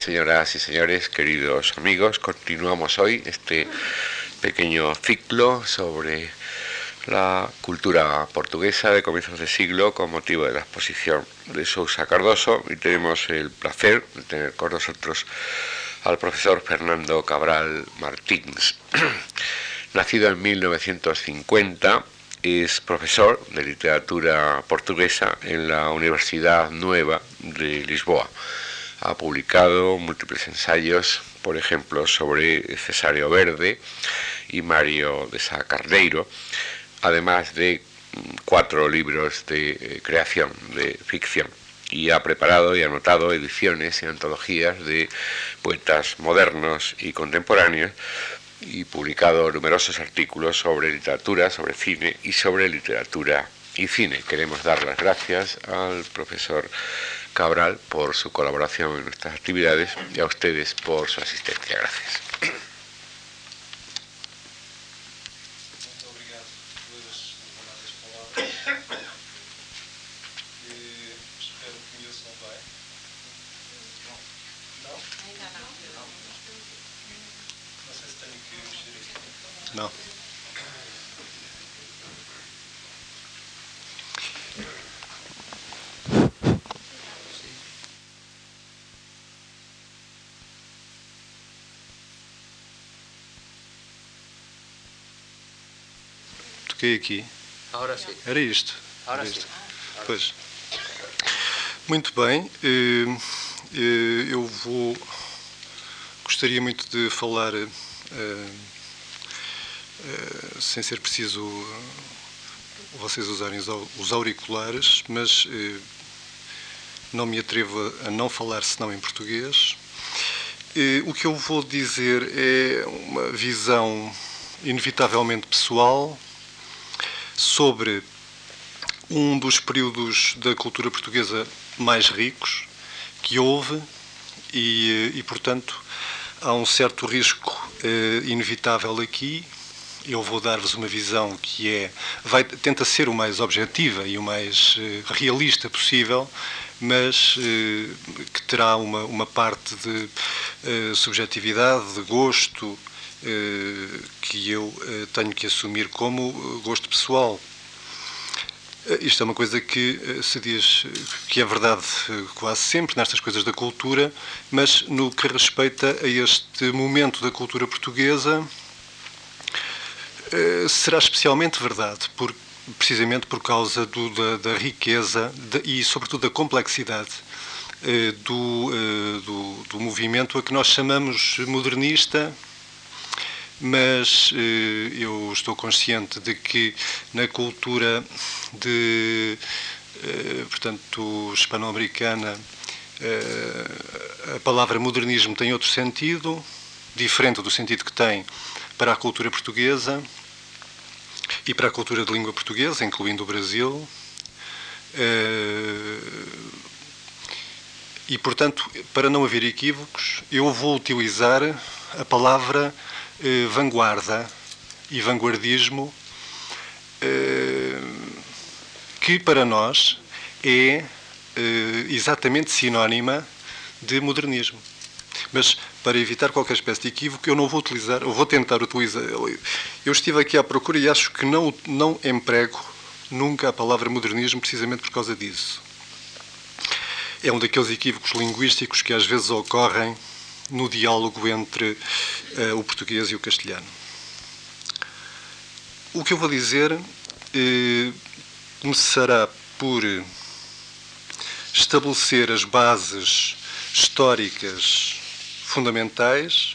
Señoras y señores, queridos amigos, continuamos hoy este pequeño ciclo sobre la cultura portuguesa de comienzos de siglo con motivo de la exposición de Sousa Cardoso, y tenemos el placer de tener con nosotros al profesor Fernando Cabral Martins. Nacido en 1950, es profesor de literatura portuguesa en la Universidad Nueva de Lisboa. Ha publicado múltiples ensayos, por ejemplo, sobre Cesáreo Verde y Mário de Sá Carneiro, además de 4 libros de creación, de ficción, y ha preparado y anotado ediciones y antologías de poetas modernos y contemporáneos, y publicado numerosos artículos sobre literatura, sobre cine y sobre literatura y cine. Queremos dar las gracias al profesor Cabral por su colaboración en nuestras actividades y a ustedes por su asistencia. Gracias. Muito obrigado pelas palavras. Espero que me ouçam bem. Não? Ainda não. Não sei se tenho que mexer aqui. Não. Toquei aqui. Agora sim. Era isto. Agora Era sim. isto. Pois. Muito bem. Eu gostaria muito de falar sem ser preciso vocês usarem os auriculares, mas não me atrevo a não falar senão em português. O que eu vou dizer é uma visão inevitavelmente pessoal sobre um dos períodos da cultura portuguesa mais ricos que houve e portanto, há um certo risco inevitável aqui. Eu vou dar-vos uma visão que tenta ser o mais objetiva e o mais realista possível, mas que terá uma parte de subjetividade, de gosto, que eu tenho que assumir como gosto pessoal. Isto é uma coisa que se diz que é verdade quase sempre nestas coisas da cultura, mas no que respeita a este momento da cultura portuguesa será especialmente verdade, precisamente por causa da riqueza e sobretudo da complexidade do movimento a que nós chamamos modernista. Mas eu estou consciente de que na cultura portanto, hispano-americana, a palavra modernismo tem outro sentido, diferente do sentido que tem para a cultura portuguesa e para a cultura de língua portuguesa, incluindo o Brasil. E, portanto, para não haver equívocos, eu vou utilizar a palavra vanguarda e vanguardismo, que para nós é exatamente sinónima de modernismo. Mas, para evitar qualquer espécie de equívoco, eu não vou utilizar, eu vou tentar utilizar. Eu estive aqui à procura e acho que não emprego nunca a palavra modernismo precisamente por causa disso. É um daqueles equívocos linguísticos que às vezes ocorrem no diálogo entre o português e o castelhano. O que eu vou dizer começará por estabelecer as bases históricas fundamentais,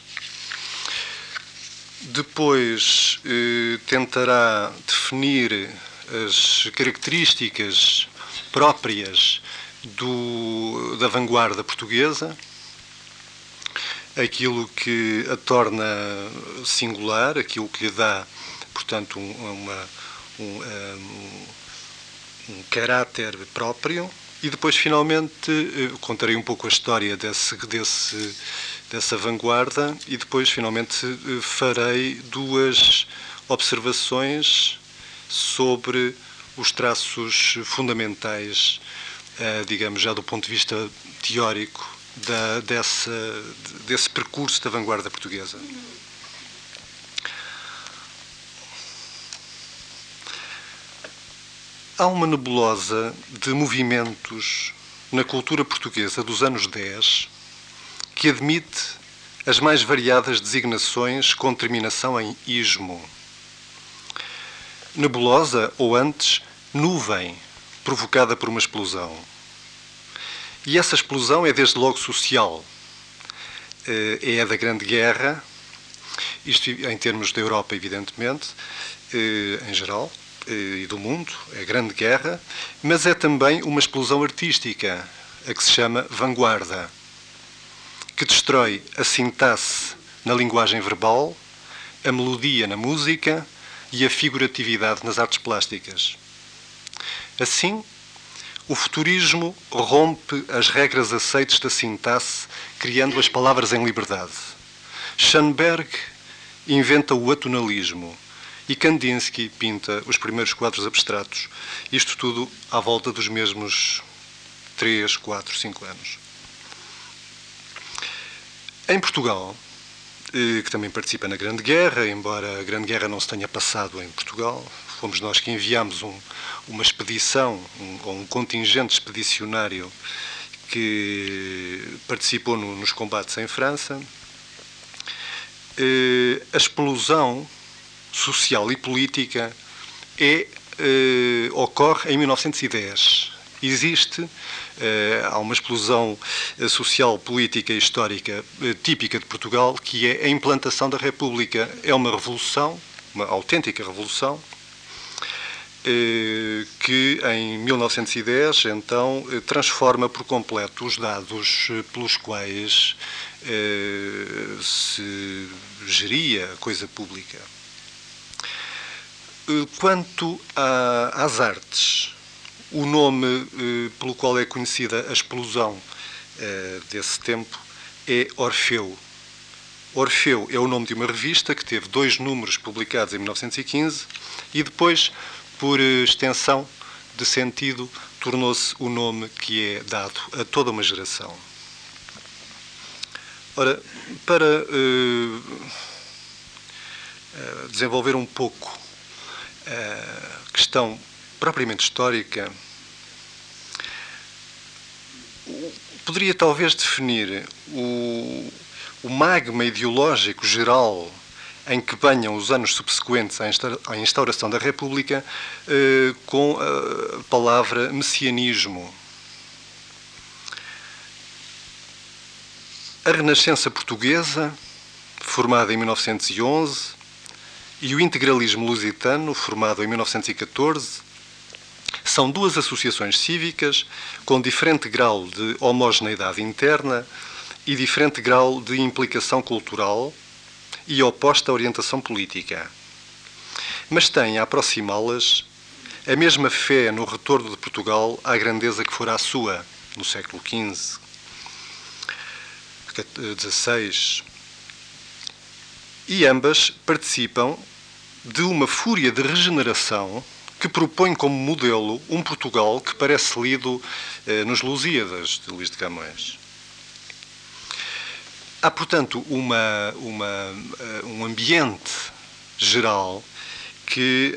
depois tentará definir as características próprias da vanguarda portuguesa, aquilo que a torna singular, aquilo que lhe dá, portanto, um caráter próprio, e depois, finalmente, contarei um pouco a história dessa vanguarda e depois, finalmente, farei 2 observações sobre os traços fundamentais, digamos, já do ponto de vista teórico, desse percurso da vanguarda portuguesa. Há uma nebulosa de movimentos na cultura portuguesa dos anos 10 que admite as mais variadas designações com terminação em ismo. Nebulosa, ou antes, nuvem, provocada por uma explosão. E essa explosão é desde logo social. É a da Grande Guerra, isto em termos da Europa, evidentemente, em geral, e do mundo, é a Grande Guerra, mas é também uma explosão artística, a que se chama vanguarda, que destrói a sintaxe na linguagem verbal, a melodia na música e a figuratividade nas artes plásticas. Assim, o futurismo rompe as regras aceites da sintaxe, criando as palavras em liberdade. Schoenberg inventa o atonalismo e Kandinsky pinta os primeiros quadros abstratos. Isto tudo à volta dos mesmos 3, 4, 5 anos. Em Portugal, que também participa na Grande Guerra, embora a Grande Guerra não se tenha passado em Portugal, fomos nós que enviámos uma expedição, um contingente expedicionário que participou nos combates em França. A explosão social e política ocorre em 1910. Há uma explosão social, política e histórica típica de Portugal, que é a implantação da República. É uma revolução, uma autêntica revolução, que em 1910, então, transforma por completo os dados pelos quais se geria a coisa pública. Quanto às artes, o nome pelo qual é conhecida a explosão desse tempo é Orfeu. Orfeu é o nome de uma revista que teve 2 números publicados em 1915 e depois, por extensão de sentido, tornou-se o nome que é dado a toda uma geração. Ora, para desenvolver um pouco a questão propriamente histórica, poderia talvez definir o magma ideológico geral em que banham os anos subsequentes à instauração da República com a palavra messianismo. A Renascença Portuguesa, formada em 1911, e o integralismo lusitano, formado em 1914, são 2 associações cívicas com diferente grau de homogeneidade interna e diferente grau de implicação cultural e oposta orientação política. Mas têm a aproximá-las a mesma fé no retorno de Portugal à grandeza que fora a sua no século XV, XVI, e ambas participam de uma fúria de regeneração que propõe como modelo um Portugal que parece lido nos Lusíadas, de Luís de Camões. Há, portanto, um ambiente geral que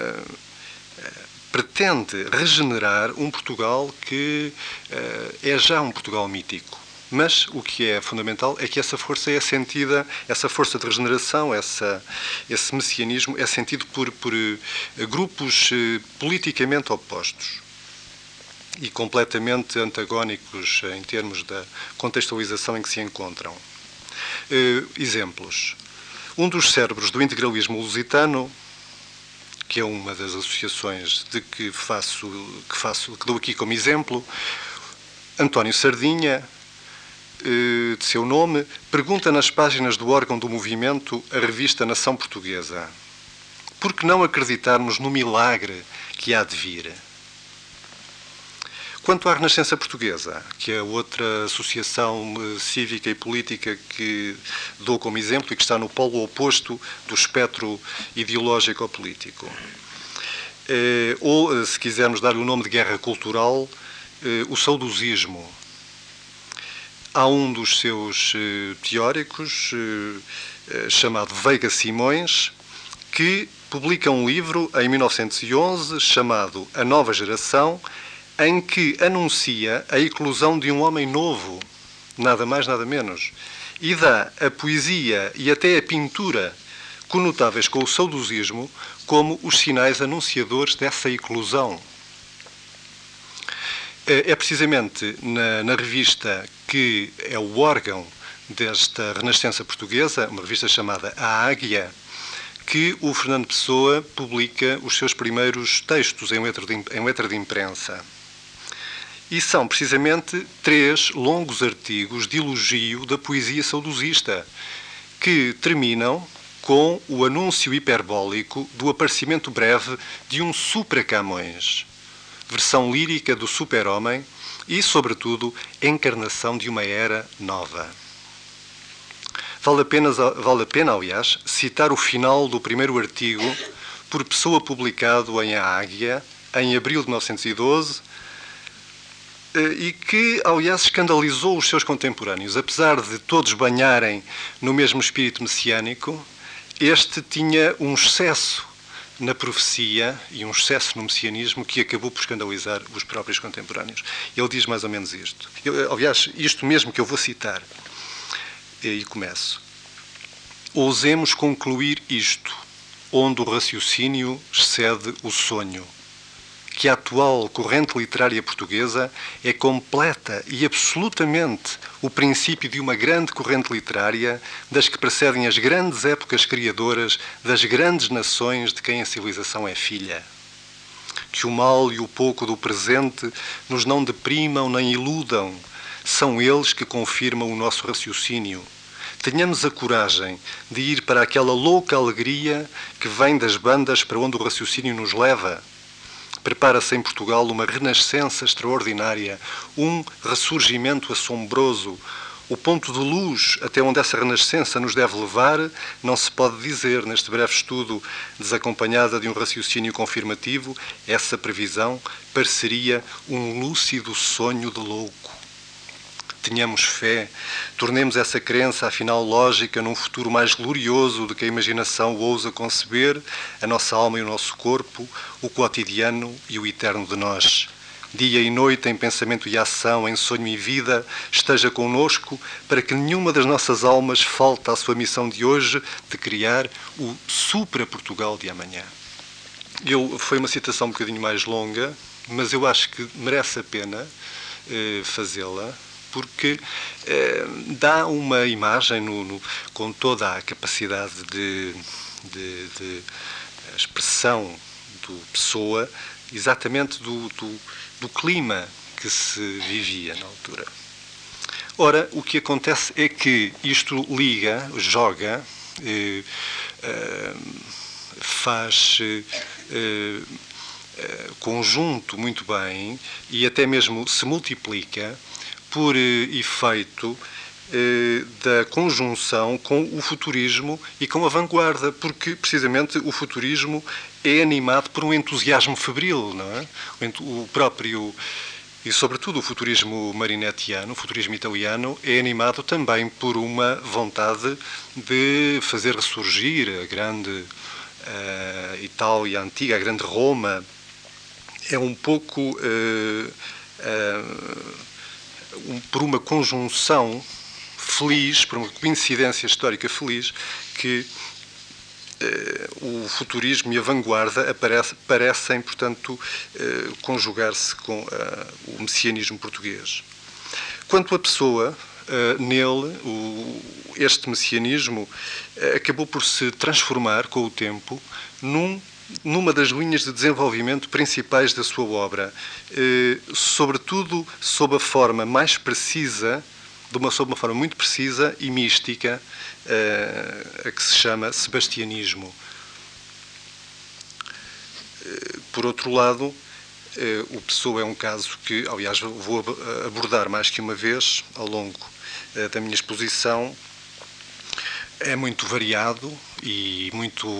pretende regenerar um Portugal que é já um Portugal mítico. Mas o que é fundamental é que essa força é sentida, essa força de regeneração, esse messianismo é sentido por grupos politicamente opostos e completamente antagónicos em termos da contextualização em que se encontram. Exemplos. Um dos cérebros do integralismo lusitano, que é uma das associações que dou aqui como exemplo, António Sardinha, de seu nome, pergunta nas páginas do órgão do movimento, a revista Nação Portuguesa: por que não acreditarmos no milagre que há de vir? Quanto à Renascença Portuguesa, que é outra associação cívica e política que dou como exemplo e que está no polo oposto do espectro ideológico-político, ou, se quisermos dar-lhe o nome de guerra cultural, o saudosismo. há um dos seus teóricos, chamado Veiga Simões, que publica um livro em 1911 chamado A Nova Geração, em que anuncia a eclosão de um homem novo, nada mais, nada menos, e dá a poesia e até a pintura conotáveis com o saudosismo como os sinais anunciadores dessa eclosão. É precisamente na revista que é o órgão desta Renascença portuguesa, uma revista chamada A Águia, que o Fernando Pessoa publica os seus primeiros textos em letra de imprensa. E são precisamente 3 longos artigos de elogio da poesia saudosista, que terminam com o anúncio hiperbólico do aparecimento breve de um supra-Camões, versão lírica do super-homem e, sobretudo, encarnação de uma era nova. Vale a pena, aliás, citar o final do primeiro artigo, por Pessoa publicado em A Águia, em abril de 1912, e que, aliás, escandalizou os seus contemporâneos. Apesar de todos banharem no mesmo espírito messiânico, este tinha um excesso na profecia e um excesso no messianismo que acabou por escandalizar os próprios contemporâneos. Ele diz mais ou menos isto. Aliás, isto mesmo que eu vou citar. E começo. Ousemos concluir isto, onde o raciocínio excede o sonho, que a atual corrente literária portuguesa é completa e absolutamente o princípio de uma grande corrente literária das que precedem as grandes épocas criadoras das grandes nações de quem a civilização é filha. Que o mal e o pouco do presente nos não deprimam nem iludam, são eles que confirmam o nosso raciocínio. Tenhamos a coragem de ir para aquela louca alegria que vem das bandas para onde o raciocínio nos leva. Prepara-se em Portugal uma renascença extraordinária, um ressurgimento assombroso. O ponto de luz até onde essa renascença nos deve levar não se pode dizer neste breve estudo, desacompanhada de um raciocínio confirmativo. Essa previsão pareceria um lúcido sonho de louco. Tenhamos fé, tornemos essa crença, afinal lógica, num futuro mais glorioso do que a imaginação ousa conceber, a nossa alma e o nosso corpo, o cotidiano e o eterno de nós. Dia e noite, em pensamento e ação, em sonho e vida, esteja connosco, para que nenhuma das nossas almas falte à sua missão de hoje, de criar o supra-Portugal de amanhã. Foi uma citação um bocadinho mais longa, mas eu acho que merece a pena fazê-la, porque dá uma imagem com toda a capacidade de expressão do Pessoa, exatamente do clima que se vivia na altura. Ora, o que acontece é que isto joga, faz conjunto muito bem e até mesmo se multiplica por efeito da conjunção com o futurismo e com a vanguarda, porque precisamente o futurismo é animado por um entusiasmo febril, não é? O próprio, e sobretudo o futurismo marinettiano, o futurismo italiano, é animado também por uma vontade de fazer ressurgir a grande Itália antiga, a grande Roma. É um pouco por uma conjunção feliz, por uma coincidência histórica feliz, que o futurismo e a vanguarda parecem, portanto, conjugar-se com o messianismo português. Quanto à Pessoa, nele, este messianismo acabou por se transformar com o tempo numa das linhas de desenvolvimento principais da sua obra, sobretudo sob a forma mais precisa, sob uma forma muito precisa e mística, a que se chama sebastianismo. Por outro lado, o Pessoa é um caso que, aliás, vou abordar mais que uma vez ao longo da minha exposição. É muito variado e muito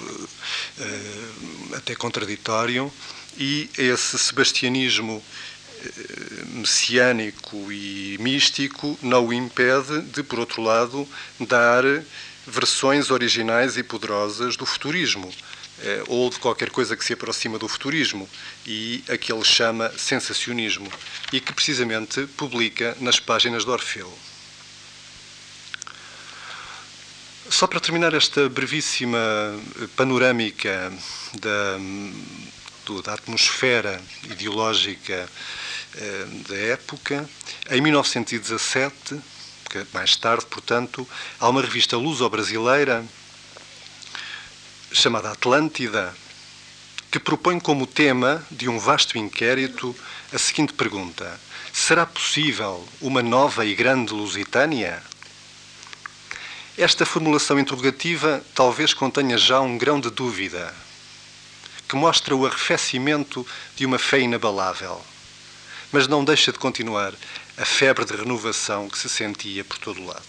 até contraditório, e esse sebastianismo messiânico e místico não o impede de, por outro lado, dar versões originais e poderosas do futurismo, ou de qualquer coisa que se aproxima do futurismo, e a que ele chama sensacionismo, e que precisamente publica nas páginas de Orfeu. Só para terminar esta brevíssima panorâmica da atmosfera ideológica da época, em 1917, mais tarde, portanto, há uma revista luso-brasileira chamada Atlântida, que propõe como tema de um vasto inquérito a seguinte pergunta: será possível uma nova e grande Lusitânia? Esta formulação interrogativa talvez contenha já um grão de dúvida, que mostra o arrefecimento de uma fé inabalável, mas não deixa de continuar a febre de renovação que se sentia por todo o lado.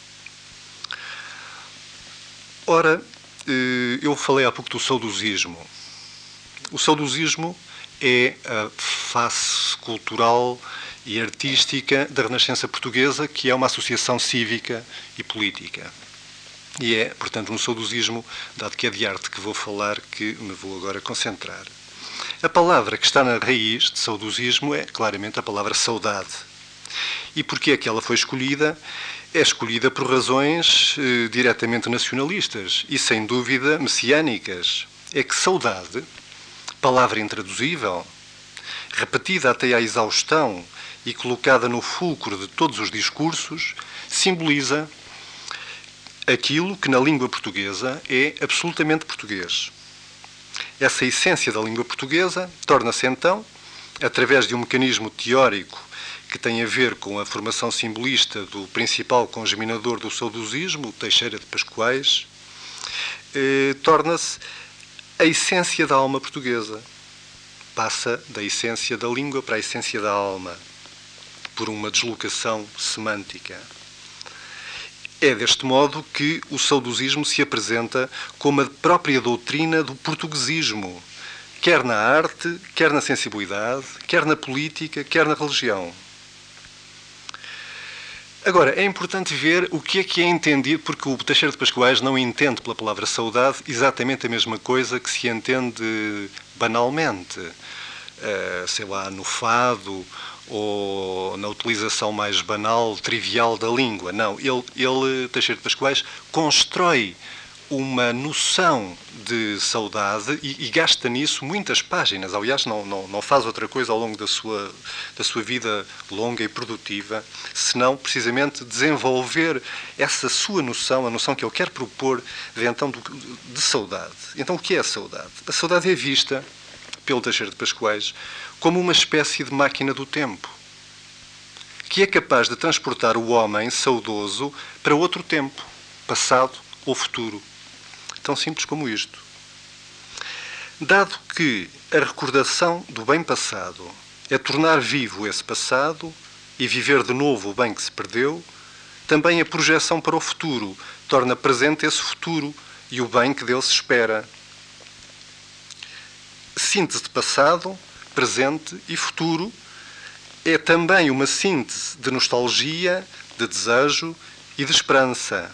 Ora, eu falei há pouco do saudosismo. O saudosismo é a face cultural e artística da Renascença Portuguesa, que é uma associação cívica e política. E é, portanto, um saudosismo, dado que é de arte que vou falar, que me vou agora concentrar. A palavra que está na raiz de saudosismo é, claramente, a palavra saudade. E porquê é que ela foi escolhida? É escolhida por razões diretamente nacionalistas e, sem dúvida, messiânicas. É que saudade, palavra intraduzível, repetida até à exaustão e colocada no fulcro de todos os discursos, simboliza aquilo que na língua portuguesa é absolutamente português. Essa essência da língua portuguesa torna-se então, através de um mecanismo teórico que tem a ver com a formação simbolista do principal congeminador do saudosismo, Teixeira de Pascoais, torna-se a essência da alma portuguesa. Passa da essência da língua para a essência da alma, por uma deslocação semântica. É deste modo que o saudosismo se apresenta como a própria doutrina do portuguesismo, quer na arte, quer na sensibilidade, quer na política, quer na religião. Agora, é importante ver o que é entendido, porque o Teixeira de Pascoais não entende pela palavra saudade exatamente a mesma coisa que se entende banalmente, sei lá, no fado ou na utilização mais banal, trivial da língua. Não, ele Teixeira de Pascoais, constrói uma noção de saudade e gasta nisso muitas páginas. Aliás, não faz outra coisa ao longo da sua vida longa e produtiva, senão precisamente desenvolver essa sua noção, a noção que ele quer propor de saudade. Então, o que é a saudade? A saudade é vista pelo Teixeira de Pascoais como uma espécie de máquina do tempo, que é capaz de transportar o homem saudoso para outro tempo, passado ou futuro. Tão simples como isto. Dado que a recordação do bem passado é tornar vivo esse passado e viver de novo o bem que se perdeu, também a projeção para o futuro torna presente esse futuro e o bem que dele se espera. Síntese de passado, presente e futuro é também uma síntese de nostalgia, de desejo e de esperança.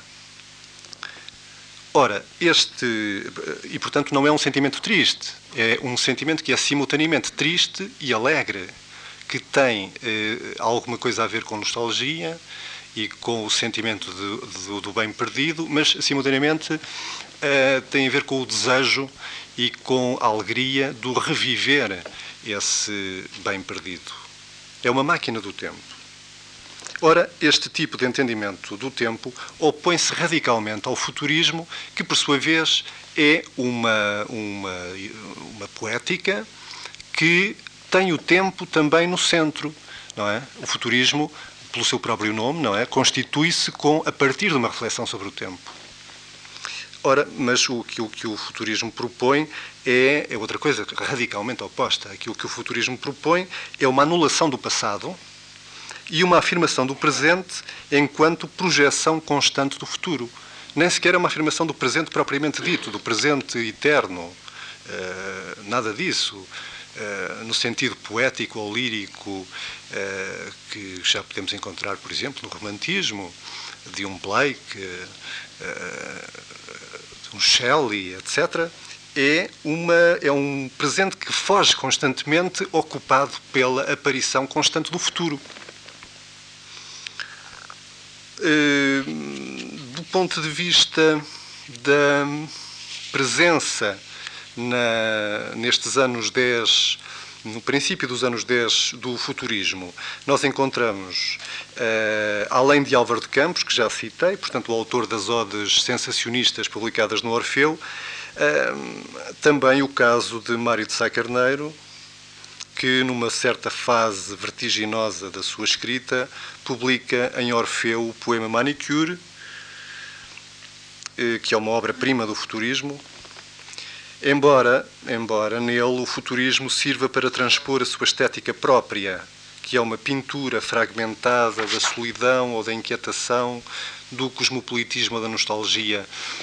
Ora, e portanto não é um sentimento triste, é um sentimento que é simultaneamente triste e alegre, que tem alguma coisa a ver com nostalgia e com o sentimento do bem perdido, mas simultaneamente tem a ver com o desejo e com a alegria do reviver esse bem perdido. É uma máquina do tempo. Ora, este tipo de entendimento do tempo opõe-se radicalmente ao futurismo, que, por sua vez, é uma poética que tem o tempo também no centro, não é? O futurismo, pelo seu próprio nome, não é? Constitui-se a partir de uma reflexão sobre o tempo. Ora, mas o que o futurismo propõe é outra coisa radicalmente oposta. Aquilo que o futurismo propõe é uma anulação do passado e uma afirmação do presente enquanto projeção constante do futuro. Nem sequer é uma afirmação do presente propriamente dito, do presente eterno. Nada disso. no sentido poético ou lírico, que já podemos encontrar, por exemplo, no romantismo, de um Blake, de um Shelley, etc., é um presente que foge constantemente, ocupado pela aparição constante do futuro. Do ponto de vista da presença nestes anos 10, no princípio dos anos 10 do futurismo, nós encontramos, além de Álvaro de Campos, que já citei, portanto o autor das odes sensacionistas publicadas no Orfeu, também o caso de Mário de Sá Carneiro, que numa certa fase vertiginosa da sua escrita publica em Orfeu o poema Manicure, que é uma obra-prima do futurismo, embora nele o futurismo sirva para transpor a sua estética própria, que é uma pintura fragmentada da solidão ou da inquietação, do cosmopolitismo ou da nostalgia.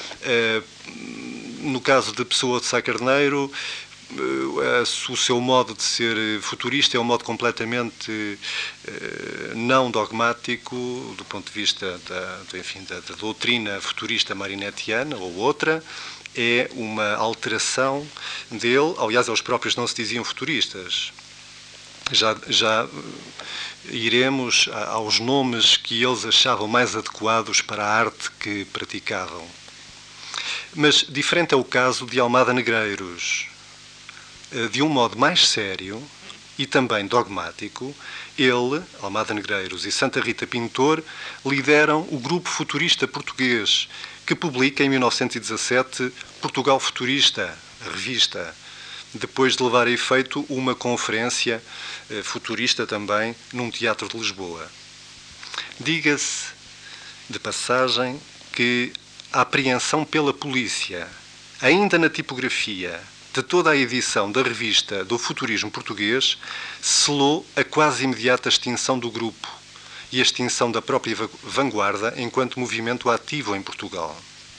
No caso de Pessoa de Sá Carneiro, o seu modo de ser futurista é um modo completamente não dogmático do ponto de vista da doutrina futurista marinetiana ou outra. É uma alteração dele. Aliás, eles próprios não se diziam futuristas. Já iremos aos nomes que eles achavam mais adequados para a arte que praticavam. Mas diferente é o caso de Almada Negreiros. De um modo mais sério e também dogmático, ele, Almada Negreiros e Santa Rita Pintor lideram o grupo futurista português, que publica em 1917 Portugal Futurista, a revista, depois de levar a efeito uma conferência futurista também num teatro de Lisboa. Diga-se, de passagem, que a apreensão pela polícia, ainda na tipografia, de toda a edição da revista do futurismo português, selou a quase imediata extinção do grupo e a extinção da própria vanguarda enquanto movimento ativo em Portugal.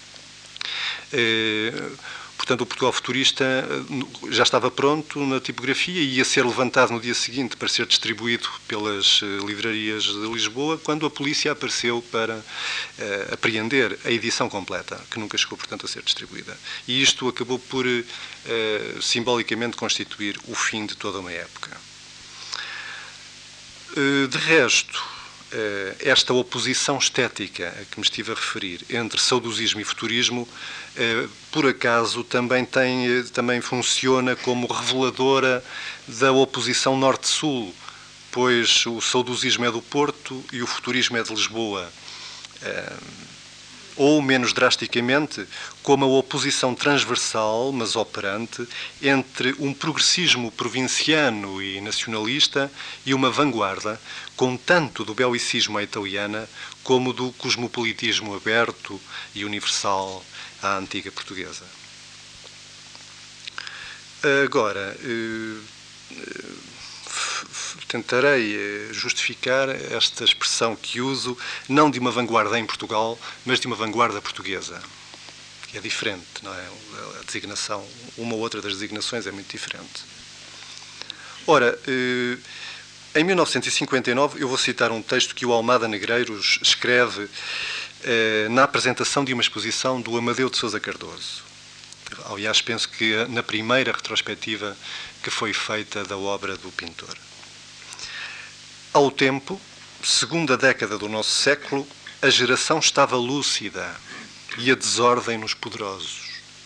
Portanto, o Portugal Futurista já estava pronto na tipografia e ia ser levantado no dia seguinte para ser distribuído pelas livrarias de Lisboa, quando a polícia apareceu para apreender a edição completa, que nunca chegou, portanto, a ser distribuída. E isto acabou por simbolicamente constituir o fim de toda uma época. De resto, esta oposição estética a que me estive a referir entre saudosismo e futurismo, por acaso, também funciona como reveladora da oposição norte-sul, pois o saudosismo é do Porto e o futurismo é de Lisboa. Ou, menos drasticamente, como a oposição transversal, mas operante, entre um progressismo provinciano e nacionalista e uma vanguarda, com tanto do belicismo à italiana como do cosmopolitismo aberto e universal à antiga portuguesa. Agora, tentarei justificar esta expressão que uso, não de uma vanguarda em Portugal, mas de uma vanguarda portuguesa, que é diferente, não é? A designação, uma ou outra das designações é muito diferente. Ora, em 1959, eu vou citar um texto que o Almada Negreiros escreve na apresentação de uma exposição do Amadeu de Sousa Cardoso. Aliás, penso que na primeira retrospectiva que foi feita da obra do pintor. Ao tempo, segunda década do nosso século, a geração estava lúcida e a desordem nos poderosos.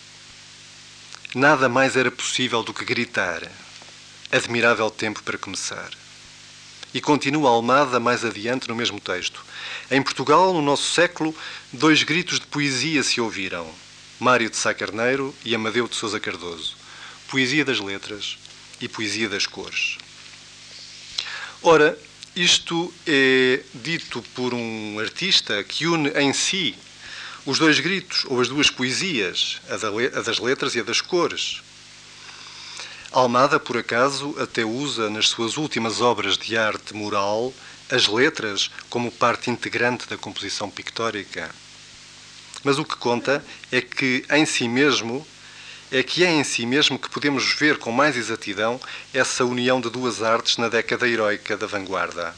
Nada mais era possível do que gritar. Admirável tempo para começar. E continua Almada mais adiante no mesmo texto. Em Portugal, no nosso século, 2 gritos de poesia se ouviram. Mário de Sá Carneiro e Amadeu de Sousa Cardoso. Poesia das letras e poesia das cores. Ora, isto é dito por um artista que une em si os 2 gritos, ou as 2 poesias, a das letras e a das cores. Almada, por acaso, até usa nas suas últimas obras de arte moral as letras como parte integrante da composição pictórica. Mas o que conta é que, em si mesmo, é que é em si mesmo que podemos ver com mais exatidão essa união de duas artes na década heroica da vanguarda.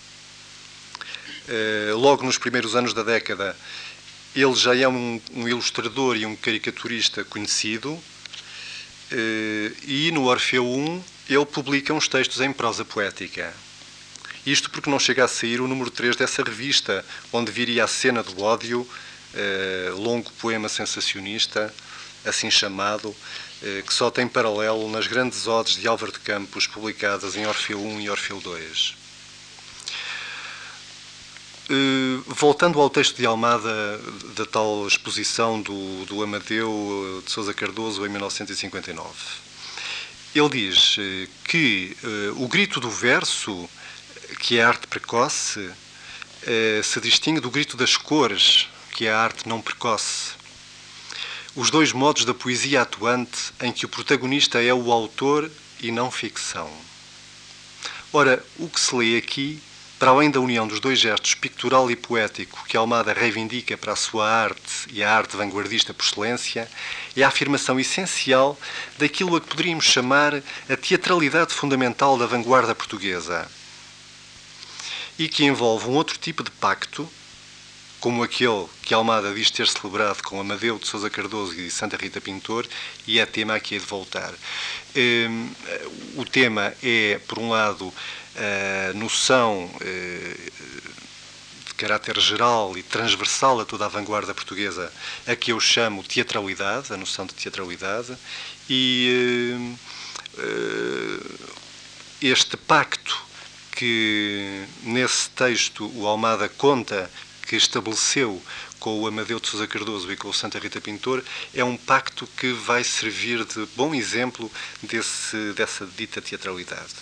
Logo nos primeiros anos da década, ele já é um ilustrador e um caricaturista conhecido, e no Orfeu I ele publica uns textos em prosa poética. Isto porque não chega a sair o número 3 dessa revista, onde viria a Cena do Ódio, longo poema sensacionista, assim chamado, que só tem paralelo nas grandes odes de Álvaro de Campos, publicadas em Orfeu I e Orfeu II. Voltando ao texto de Almada, da tal exposição do Amadeu de Sousa Cardoso em 1959, ele diz que o grito do verso, que é a arte precoce, se distingue do grito das cores, que é a arte não precoce. Os dois modos da poesia atuante em que o protagonista é o autor e não ficção. Ora, o que se lê aqui, para além da união dos dois gestos pictural e poético que Almada reivindica para a sua arte e a arte vanguardista por excelência, é a afirmação essencial daquilo a que poderíamos chamar a teatralidade fundamental da vanguarda portuguesa, e que envolve um outro tipo de pacto, como aquele que Almada diz ter celebrado com Amadeu de Sousa Cardoso e Santa Rita Pintor, e é tema a que hei de voltar. O tema é, por um lado, a noção de caráter geral e transversal a toda a vanguarda portuguesa, a que eu chamo teatralidade, a noção de teatralidade, e este pacto que nesse texto o Almada conta que estabeleceu com o Amadeu de Sousa Cardoso e com o Santa Rita Pintor, é um pacto que vai servir de bom exemplo dessa dita teatralidade.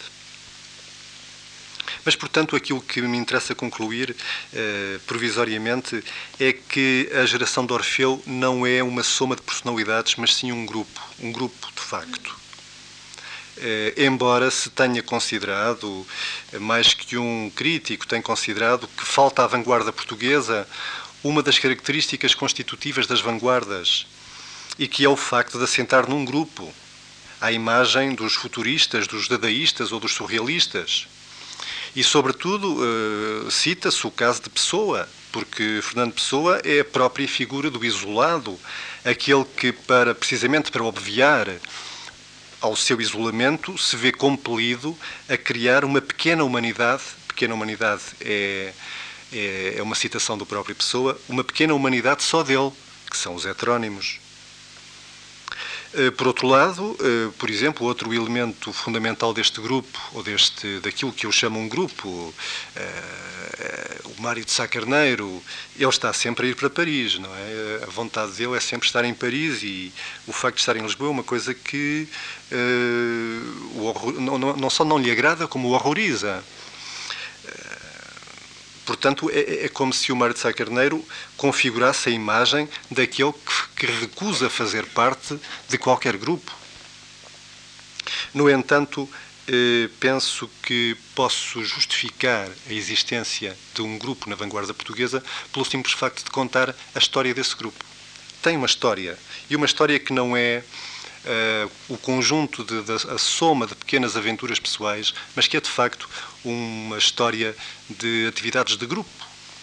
Mas, portanto, aquilo que me interessa concluir provisoriamente é que a geração de Orfeu não é uma soma de personalidades, mas sim um grupo de facto. Embora se tenha considerado, mais que um crítico tem considerado, que falta à vanguarda portuguesa uma das características constitutivas das vanguardas, e que é o facto de assentar num grupo, à imagem dos futuristas, dos dadaístas ou dos surrealistas. E, sobretudo, cita-se o caso de Pessoa, porque Fernando Pessoa é a própria figura do isolado, aquele que, precisamente para obviar ao seu isolamento, se vê compelido a criar uma pequena humanidade. Pequena humanidade é uma citação do próprio Pessoa, uma pequena humanidade só dele, que são os heterónimos. Por outro lado, por exemplo, outro elemento fundamental deste grupo, ou daquilo que eu chamo um grupo, o Mário de Sá Carneiro, ele está sempre a ir para Paris, não é? A vontade dele é sempre estar em Paris, e o facto de estar em Lisboa é uma coisa que não só não lhe agrada, como o horroriza. Portanto, é como se o Mário de Sá Carneiro configurasse a imagem daquele que recusa fazer parte de qualquer grupo. No entanto, penso que posso justificar a existência de um grupo na vanguarda portuguesa pelo simples facto de contar a história desse grupo. Tem uma história, e uma história que não é o conjunto, a soma de pequenas aventuras pessoais, mas que é de facto uma história de atividades de grupo.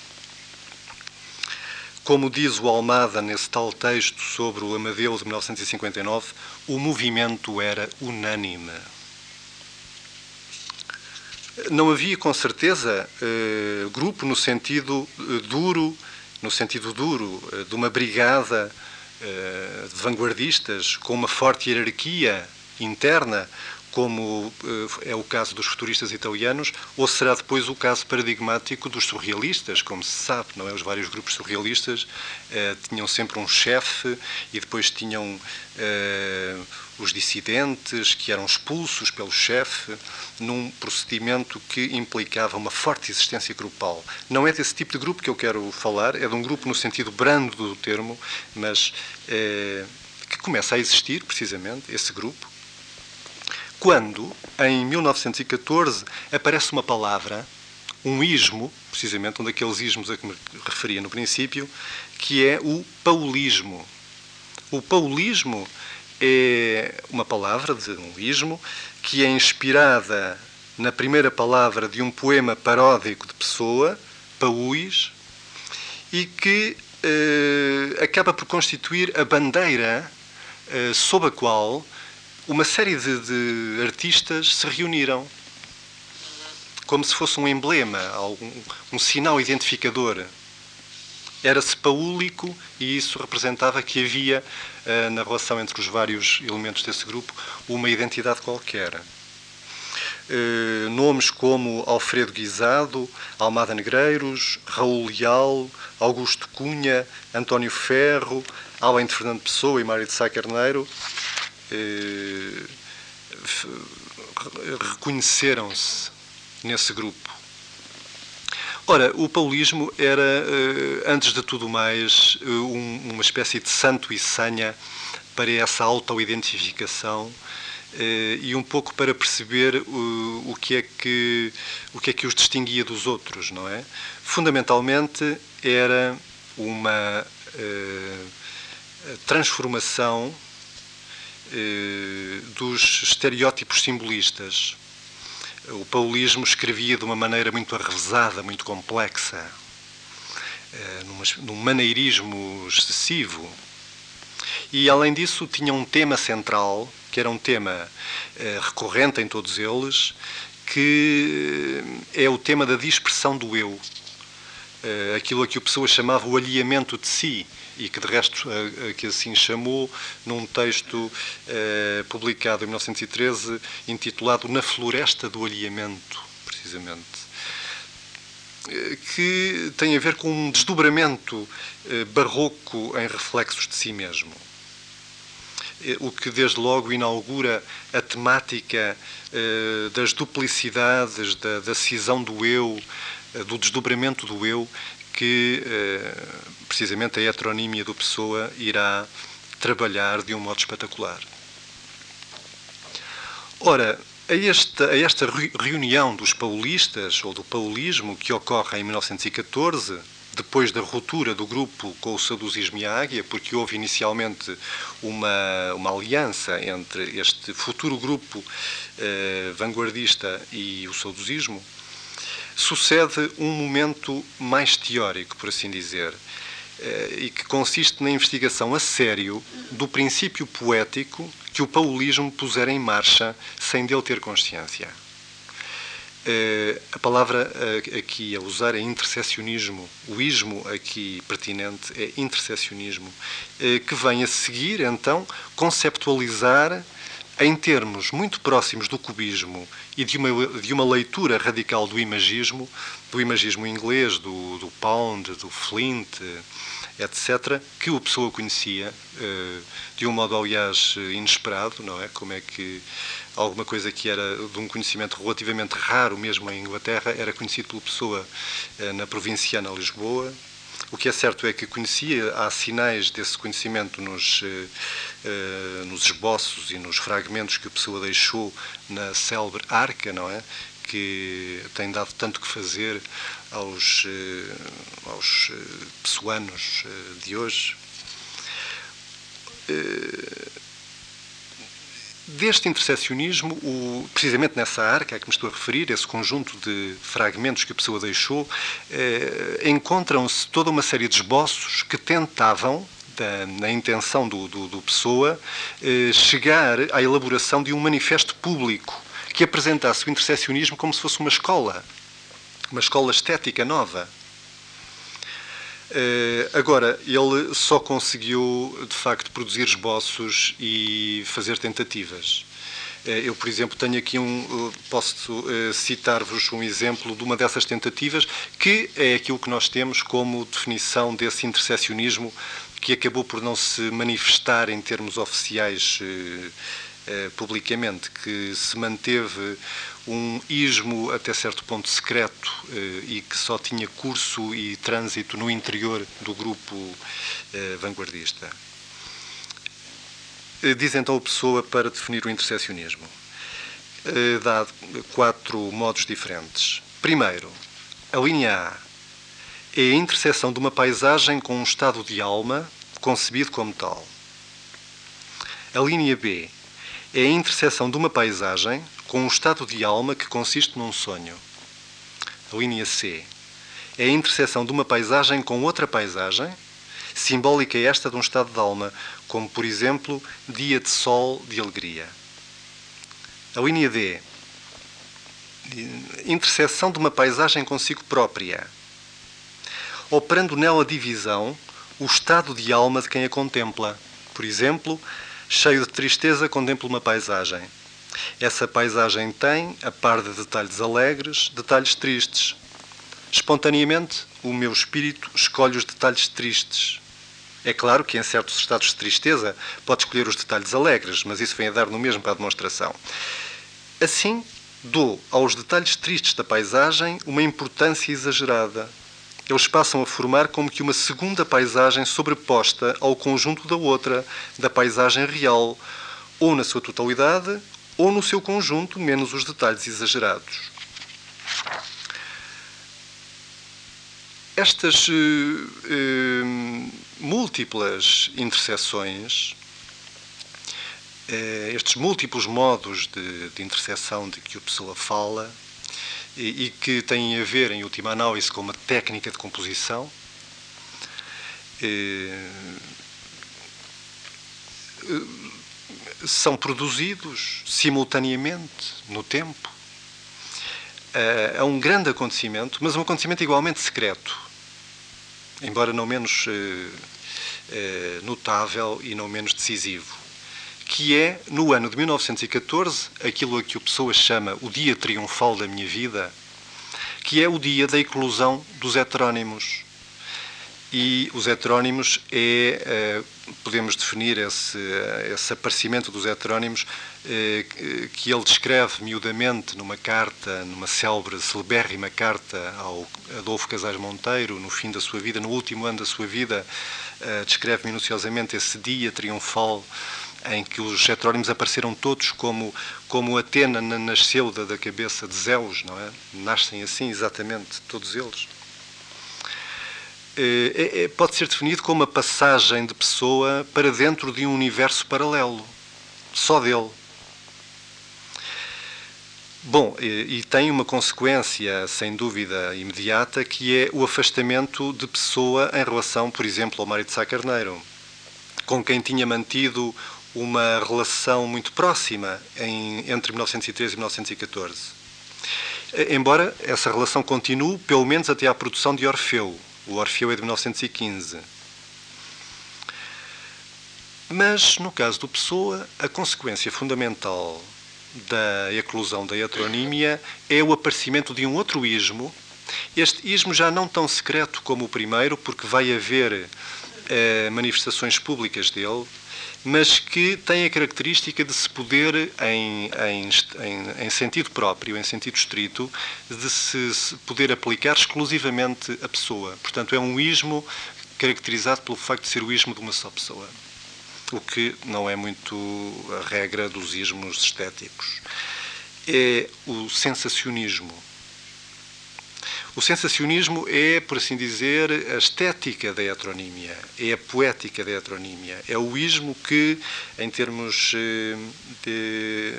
Como diz o Almada nesse tal texto sobre o Amadeu de 1959, o movimento era unânime. Não havia, com certeza, grupo no sentido duro, de uma brigada de vanguardistas com uma forte hierarquia interna, como é o caso dos futuristas italianos, ou será depois o caso paradigmático dos surrealistas, como se sabe, não é? Os vários grupos surrealistas tinham sempre um chefe, e depois tinham os dissidentes, que eram expulsos pelo chefe, num procedimento que implicava uma forte existência grupal. Não é desse tipo de grupo que eu quero falar, é de um grupo no sentido brando do termo, mas que começa a existir, precisamente, esse grupo, quando, em 1914, aparece uma palavra, um ismo, precisamente um daqueles ismos a que me referia no princípio, que é o paulismo. O paulismo é uma palavra de um ismo que é inspirada na primeira palavra de um poema paródico de Pessoa, Paúis, e que acaba por constituir a bandeira sob a qual uma série de artistas se reuniram, como se fosse um emblema, um sinal identificador. Era-se paúlico e isso representava que havia, na relação entre os vários elementos desse grupo, uma identidade qualquer. Nomes como Alfredo Guisado, Almada Negreiros, Raul Leal, Augusto Cunha, António Ferro, além de Fernando Pessoa e Mário de Sá Carneiro, reconheceram-se nesse grupo. Ora, o paulismo era, antes de tudo mais, uma espécie de santo e senha para essa auto-identificação e um pouco para perceber o que é que os distinguia dos outros, não é? Fundamentalmente era uma transformação dos estereótipos simbolistas. O paulismo escrevia de uma maneira muito arrevesada, muito complexa, num maneirismo excessivo. E, além disso, tinha um tema central, que era um tema recorrente em todos eles, que é o tema da dispersão do eu. Aquilo a que o Pessoa chamava o alheamento de si, e que, de resto, que assim chamou num texto publicado em 1913, intitulado Na Floresta do Alheamento, precisamente, que tem a ver com um desdobramento barroco em reflexos de si mesmo. O que, desde logo, inaugura a temática das duplicidades, da cisão do eu, do desdobramento do eu, que precisamente a heteronímia do Pessoa irá trabalhar de um modo espetacular. Ora, a esta reunião dos paulistas, ou do paulismo, que ocorre em 1914, depois da ruptura do grupo com o saudosismo e a Águia, porque houve inicialmente uma aliança entre este futuro grupo vanguardista e o saudosismo, sucede um momento mais teórico, por assim dizer, e que consiste na investigação a sério do princípio poético que o paulismo pusera em marcha sem dele ter consciência. A palavra aqui a usar é interseccionismo. O ismo aqui pertinente é interseccionismo, que vem a seguir, então, conceptualizar em termos muito próximos do cubismo e de uma leitura radical do imagismo inglês, do Pound, do Flint, etc., que o Pessoa conhecia de um modo, aliás, inesperado, não é? Como é que alguma coisa que era de um conhecimento relativamente raro, mesmo em Inglaterra, era conhecido pelo Pessoa na provinciana Lisboa. O que é certo é que conhecia, há sinais desse conhecimento nos esboços e nos fragmentos que o Pessoa deixou na célebre Arca, não é? Que tem dado tanto que fazer aos pessoanos de hoje. Deste interseccionismo, precisamente nessa arca a que me estou a referir, esse conjunto de fragmentos que a Pessoa deixou, encontram-se toda uma série de esboços que tentavam, na intenção do Pessoa, chegar à elaboração de um manifesto público que apresentasse o interseccionismo como se fosse uma escola estética nova. Agora, ele só conseguiu, de facto, produzir esboços e fazer tentativas. Eu, por exemplo, tenho aqui posso citar-vos um exemplo de uma dessas tentativas, que é aquilo que nós temos como definição desse interseccionismo, que acabou por não se manifestar em termos oficiais publicamente, que se manteve um ismo até certo ponto secreto e que só tinha curso e trânsito no interior do grupo vanguardista. Diz então a Pessoa, para definir o interseccionismo, dá 4 modos diferentes. Primeiro, a linha A é a interseção de uma paisagem com um estado de alma concebido como tal. A linha B é a interseção de uma paisagem com um estado de alma que consiste num sonho. A linha C é a interseção de uma paisagem com outra paisagem, simbólica esta de um estado de alma, como, por exemplo, dia de sol de alegria. A linha D, interseção de uma paisagem consigo própria, operando nela divisão, o estado de alma de quem a contempla. Por exemplo, cheio de tristeza, contemplo uma paisagem. Essa paisagem tem, a par de detalhes alegres, detalhes tristes. Espontaneamente, o meu espírito escolhe os detalhes tristes. É claro que em certos estados de tristeza pode escolher os detalhes alegres, mas isso vem a dar no mesmo para a demonstração. Assim, dou aos detalhes tristes da paisagem uma importância exagerada. Eles passam a formar como que uma segunda paisagem sobreposta ao conjunto da outra, da paisagem real, ou na sua totalidade, ou no seu conjunto, menos os detalhes exagerados. Estas múltiplas interseções, estes múltiplos modos de interseção de que o Pessoa fala e que têm a ver, em última análise, com uma técnica de composição, são produzidos simultaneamente no tempo. É um grande acontecimento, mas um acontecimento igualmente secreto, embora não menos notável e não menos decisivo, que é, no ano de 1914, aquilo a que o Pessoa chama o dia triunfal da minha vida, que é o dia da eclosão dos heterónimos. E os heterónimos podemos definir esse aparecimento dos heterónimos que ele descreve miudamente numa carta, numa celebérrima carta ao Adolfo Casais Monteiro, no fim da sua vida, no último ano da sua vida, descreve minuciosamente esse dia triunfal em que os heterónimos apareceram todos como Atena nasceu da cabeça de Zeus, não é? Nascem assim, exatamente, todos eles. Pode ser definido como a passagem de Pessoa para dentro de um universo paralelo, só dele. Bom, e tem uma consequência, sem dúvida, imediata, que é o afastamento de Pessoa em relação, por exemplo, ao Mário de Sá Carneiro, com quem tinha mantido uma relação muito próxima entre 1913 e 1914. Embora essa relação continue, pelo menos até à produção de Orfeu. O Orfeu é de 1915. Mas, no caso do Pessoa, a consequência fundamental da eclosão da heteronímia é o aparecimento de um outro ismo. Este ismo já não tão secreto como o primeiro, porque vai haver manifestações públicas dele, mas que tem a característica de se poder, em sentido próprio, em sentido estrito, de se poder aplicar exclusivamente a Pessoa. Portanto, é um ismo caracterizado pelo facto de ser o ismo de uma só pessoa, o que não é muito a regra dos ismos estéticos. É o sensacionismo. O sensacionismo é, por assim dizer, a estética da heteronímia, é a poética da heteronímia, é o ismo que, em termos de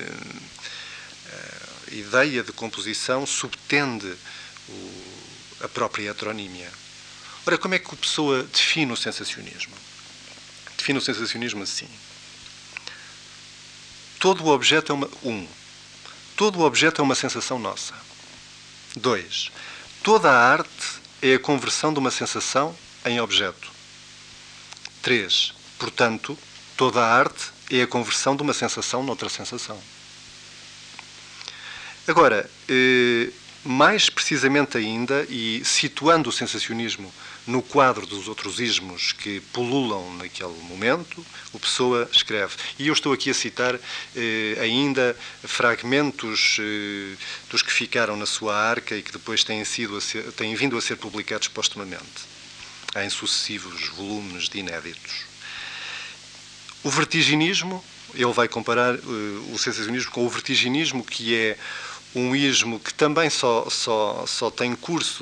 ideia de composição, subtende a própria heteronímia. Ora, como é que o Pessoa define o sensacionismo? Define o sensacionismo assim. Todo o objeto todo o objeto é uma sensação nossa. 2. Toda a arte é a conversão de uma sensação em objeto. 3. Portanto, toda a arte é a conversão de uma sensação noutra sensação. Agora, mais precisamente ainda, e situando o sensacionismo no quadro dos outros ismos que pululam naquele momento, o Pessoa escreve. E eu estou aqui a citar ainda fragmentos dos que ficaram na sua arca e que depois têm vindo a ser publicados postumamente, em sucessivos volumes de inéditos. O vertiginismo, ele vai comparar o sensacionismo com o vertiginismo, que é um ismo que também só tem curso,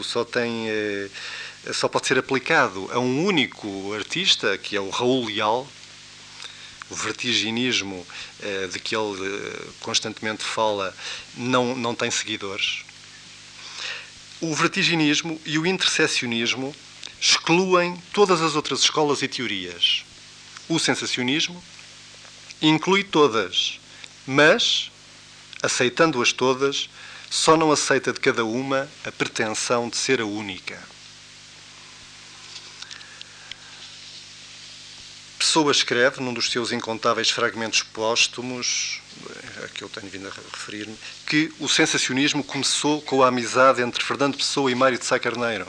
só pode ser aplicado a um único artista, que é o Raul Leal, o vertiginismo de que ele constantemente fala não tem seguidores. O vertiginismo e o interseccionismo excluem todas as outras escolas e teorias. O sensacionismo inclui todas, mas, aceitando-as todas, só não aceita de cada uma a pretensão de ser a única. Pessoa escreve, num dos seus incontáveis fragmentos póstumos, a que eu tenho vindo a referir-me, que o sensacionismo começou com a amizade entre Fernando Pessoa e Mário de Sá Carneiro.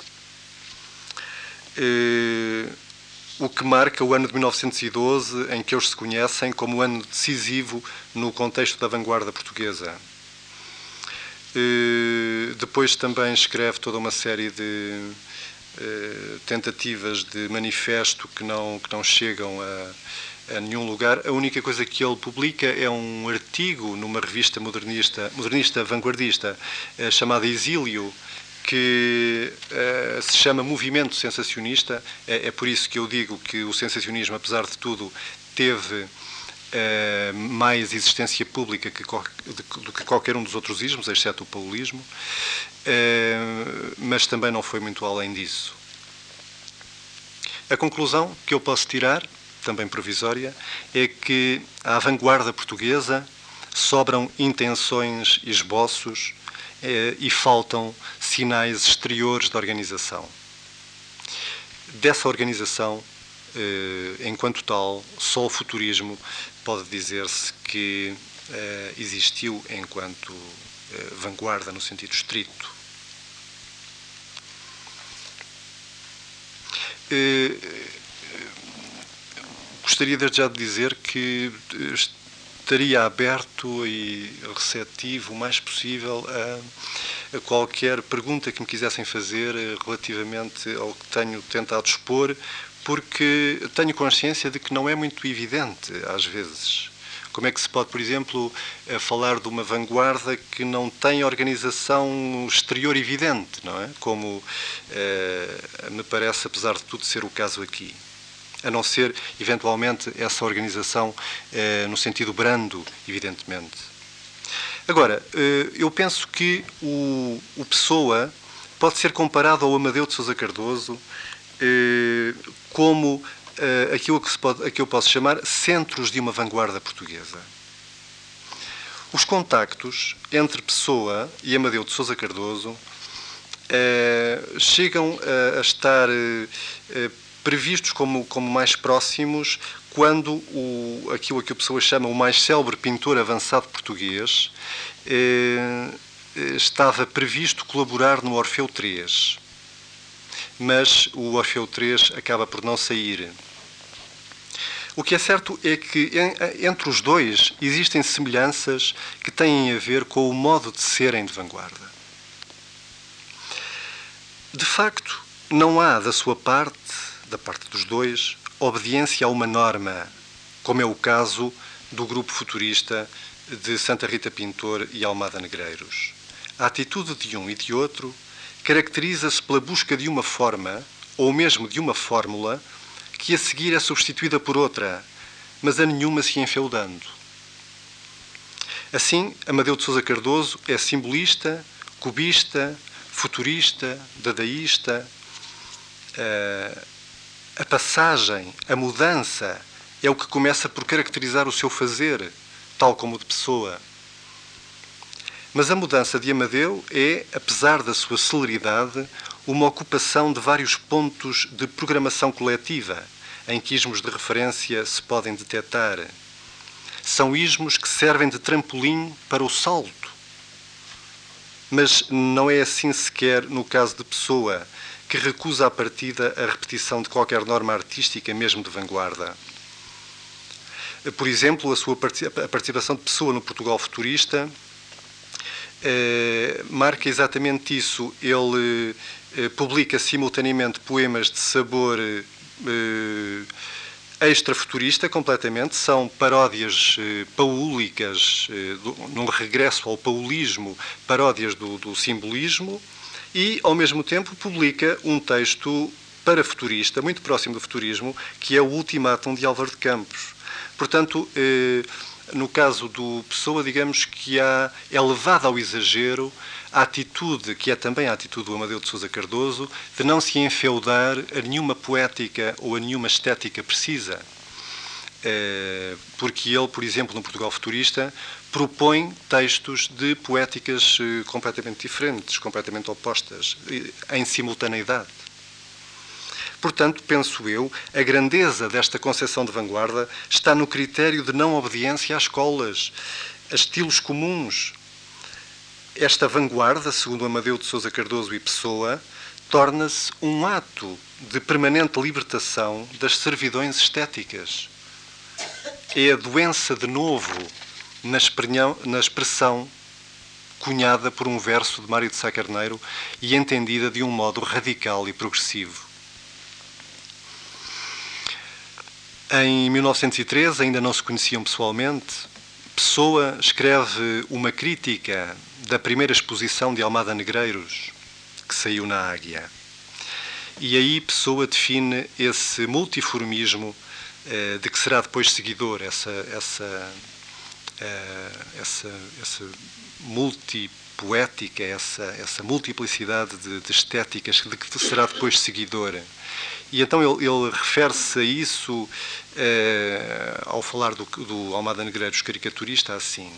O que marca o ano de 1912, em que eles se conhecem como um ano decisivo no contexto da vanguarda portuguesa. Depois também escreve toda uma série de tentativas de manifesto que não chegam a nenhum lugar. A única coisa que ele publica é um artigo numa revista modernista vanguardista, chamada Exílio, que se chama Movimento Sensacionista. É por isso que eu digo que o sensacionismo, apesar de tudo, teve mais existência pública do que qualquer um dos outros ismos, exceto o paulismo, mas também não foi muito além disso. A conclusão que eu posso tirar, também provisória, é que à vanguarda portuguesa sobram intenções e esboços e faltam sinais exteriores de organização. Dessa organização, enquanto tal, só o futurismo pode dizer-se que existiu enquanto vanguarda no sentido estrito. Gostaria desde já de dizer que estaria aberto e receptivo o mais possível a qualquer pergunta que me quisessem fazer relativamente ao que tenho tentado expor, porque tenho consciência de que não é muito evidente, às vezes. Como é que se pode, por exemplo, falar de uma vanguarda que não tem organização exterior evidente, não é? Como me parece, apesar de tudo, ser o caso aqui. A não ser, eventualmente, essa organização no sentido brando, evidentemente. Agora, eu penso que o Pessoa pode ser comparado ao Amadeu de Sousa Cardoso como aquilo que eu posso chamar centros de uma vanguarda portuguesa. Os contactos entre Pessoa e Amadeu de Sousa Cardoso chegam a estar previstos como mais próximos quando aquilo a que a Pessoa chama o mais célebre pintor avançado português estava previsto colaborar no Orfeu III. Mas o Orfeu III acaba por não sair. O que é certo é que entre os dois existem semelhanças que têm a ver com o modo de serem de vanguarda. De facto, não há da sua parte, da parte dos dois, obediência a uma norma, como é o caso do grupo futurista de Santa Rita Pintor e Almada Negreiros. A atitude de um e de outro caracteriza-se pela busca de uma forma, ou mesmo de uma fórmula, que a seguir é substituída por outra, mas a nenhuma se enfeudando. Assim, Amadeu de Sousa Cardoso é simbolista, cubista, futurista, dadaísta. A passagem, a mudança, é o que começa por caracterizar o seu fazer, tal como o de Pessoa. Mas a mudança de Amadeu é, apesar da sua celeridade, uma ocupação de vários pontos de programação coletiva, em que ismos de referência se podem detectar. São ismos que servem de trampolim para o salto. Mas não é assim sequer no caso de Pessoa, que recusa à partida a repetição de qualquer norma artística, mesmo de vanguarda. Por exemplo, a participação de Pessoa no Portugal futurista marca exatamente isso. Ele publica simultaneamente poemas de sabor extrafuturista, completamente. São paródias paúlicas, num regresso ao paulismo, paródias do simbolismo, e, ao mesmo tempo, publica um texto parafuturista, muito próximo do futurismo, que é o Ultimátum de Álvaro de Campos. Portanto, no caso do Pessoa, digamos que é levada ao exagero a atitude, que é também a atitude do Amadeu de Sousa Cardoso, de não se enfeudar a nenhuma poética ou a nenhuma estética precisa. Porque ele, por exemplo, no Portugal Futurista, propõe textos de poéticas completamente diferentes, completamente opostas, em simultaneidade. Portanto, penso eu, a grandeza desta concepção de vanguarda está no critério de não obediência às escolas, a estilos comuns. Esta vanguarda, segundo Amadeu de Sousa Cardoso e Pessoa, torna-se um ato de permanente libertação das servidões estéticas. É a doença de novo na expressão cunhada por um verso de Mário de Sá Carneiro e entendida de um modo radical e progressivo. Em 1913, ainda não se conheciam pessoalmente, Pessoa escreve uma crítica da primeira exposição de Almada Negreiros, que saiu na Águia. E aí Pessoa define esse multiformismo de que será depois seguidor, essa multipoética, essa multiplicidade de estéticas de que será depois seguidor. E então ele refere-se a isso ao falar do Almada Negreiros caricaturista assim.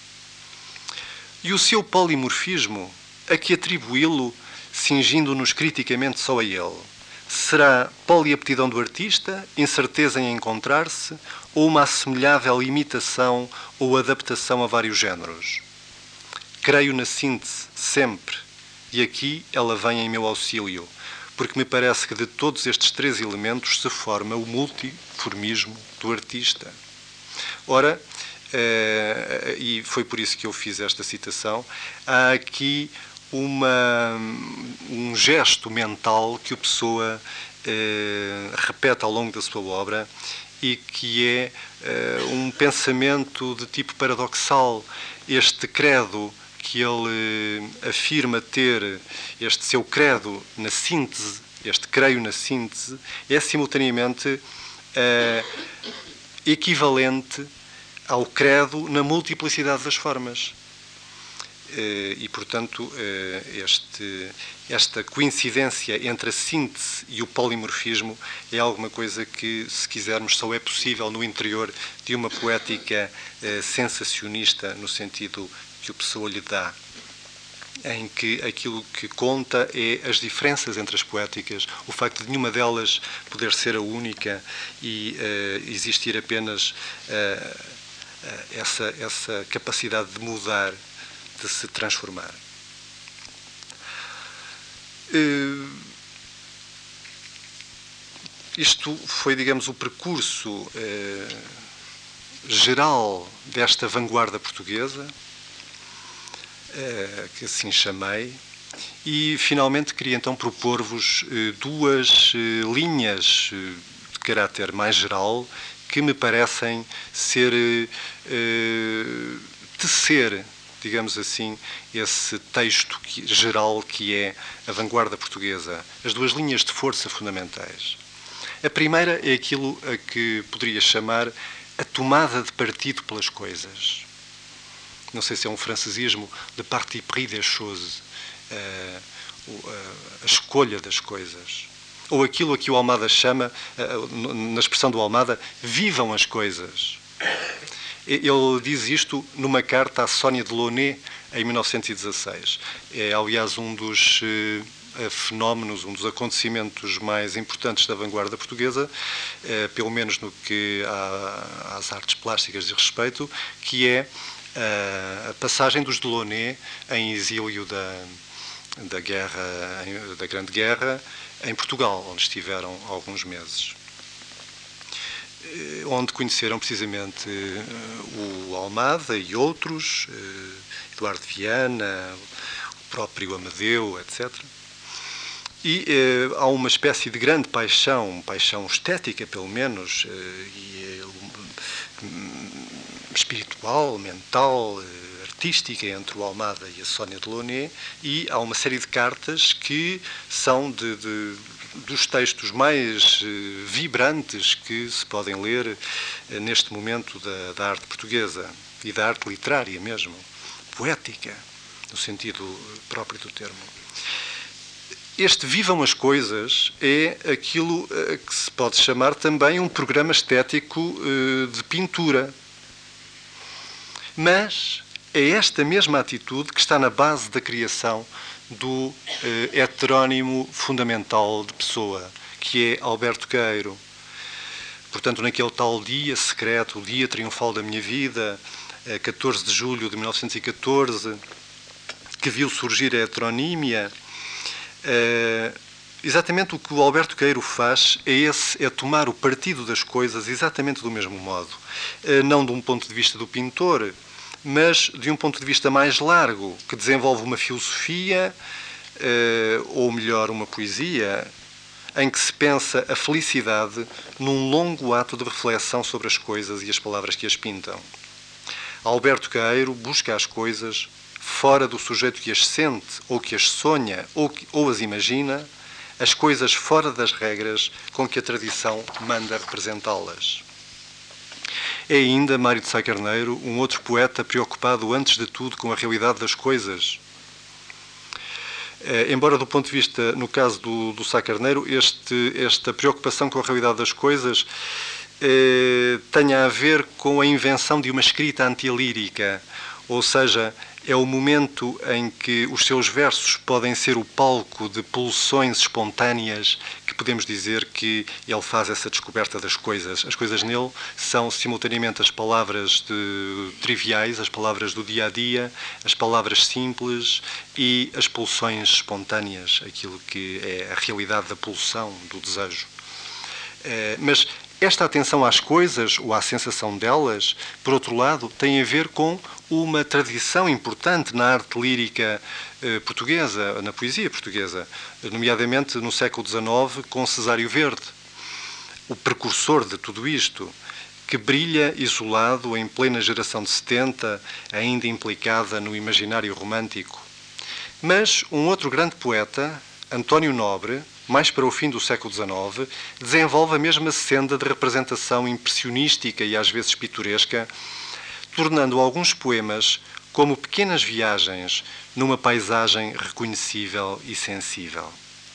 E o seu polimorfismo, a que atribuí-lo, cingindo-nos criticamente só a ele? Será poliaptidão do artista, incerteza em encontrar-se, ou uma assemelhável imitação ou adaptação a vários géneros? Creio na síntese, sempre, e aqui ela vem em meu auxílio, porque me parece que de todos estes três elementos se forma o multiformismo do artista. Ora, e foi por isso que eu fiz esta citação, há aqui um gesto mental que o Pessoa repete ao longo da sua obra e que é um pensamento de tipo paradoxal. Este credo que ele afirma ter, este seu credo na síntese, este creio na síntese, é simultaneamente equivalente ao credo na multiplicidade das formas. E, portanto, esta coincidência entre a síntese e o polimorfismo é alguma coisa que, se quisermos, só é possível no interior de uma poética sensacionista, no sentido que o Pessoa lhe dá, em que aquilo que conta é as diferenças entre as poéticas, o facto de nenhuma delas poder ser a única e existir apenas essa capacidade de mudar, de se transformar. Isto foi, digamos, o percurso geral desta vanguarda portuguesa, que assim chamei, e finalmente queria então propor-vos duas linhas de caráter mais geral que me parecem ser tecer, digamos assim, esse texto geral que é a vanguarda portuguesa, as duas linhas de força fundamentais. A primeira é aquilo a que poderia chamar a tomada de partido pelas coisas. Não sei se é um francesismo, le parti pris des choses, a escolha das coisas. Ou aquilo a que o Almada chama, na expressão do Almada, vivam as coisas. Ele diz isto numa carta à Sónia Delaunay, em 1916. É, aliás, um dos fenómenos, um dos acontecimentos mais importantes da vanguarda portuguesa, pelo menos no que às artes plásticas diz respeito, que é a passagem dos Delaunay em exílio da Grande Guerra em Portugal, onde estiveram alguns meses, onde conheceram precisamente o Almada e outros, Eduardo Viana, o próprio Amadeu, etc. E há uma espécie de grande paixão estética, pelo menos, espiritual, mental, artística entre o Almada e a Sónia Delaunay, e há uma série de cartas que são de dos textos mais vibrantes que se podem ler neste momento da arte portuguesa e da arte literária mesmo, poética, no sentido próprio do termo. Este Vivam as Coisas é aquilo que se pode chamar também um programa estético de pintura. Mas é esta mesma atitude que está na base da criação do heterónimo fundamental de Pessoa, que é Alberto Queiro. Portanto, naquele tal dia secreto, o dia triunfal da minha vida, 14 de julho de 1914, que viu surgir a heteronímia, exatamente o que o Alberto Queiro faz é tomar o partido das coisas exatamente do mesmo modo. Não de um ponto de vista do pintor, mas de um ponto de vista mais largo, que desenvolve uma filosofia, ou melhor, uma poesia, em que se pensa a felicidade num longo ato de reflexão sobre as coisas e as palavras que as pintam. Alberto Queiro busca as coisas fora do sujeito que as sente, ou que as sonha, ou as imagina, as coisas fora das regras com que a tradição manda representá-las. É ainda Mário de Sá Carneiro um outro poeta preocupado antes de tudo com a realidade das coisas. Embora do ponto de vista, no caso do Sá Carneiro, esta preocupação com a realidade das coisas tenha a ver com a invenção de uma escrita antilírica, ou seja, é o momento em que os seus versos podem ser o palco de pulsões espontâneas que podemos dizer que ele faz essa descoberta das coisas. As coisas nele são simultaneamente as palavras triviais, as palavras do dia-a-dia, as palavras simples e as pulsões espontâneas, aquilo que é a realidade da pulsão, do desejo. Mas esta atenção às coisas, ou à sensação delas, por outro lado, tem a ver com uma tradição importante na arte lírica portuguesa, na poesia portuguesa, nomeadamente no século XIX, com Cesário Verde, o precursor de tudo isto, que brilha isolado em plena geração de 70, ainda implicada no imaginário romântico. Mas um outro grande poeta, António Nobre, mais para o fim do século XIX, desenvolve a mesma senda de representação impressionística e às vezes pitoresca, tornando alguns poemas como pequenas viagens numa paisagem reconhecível e sensível.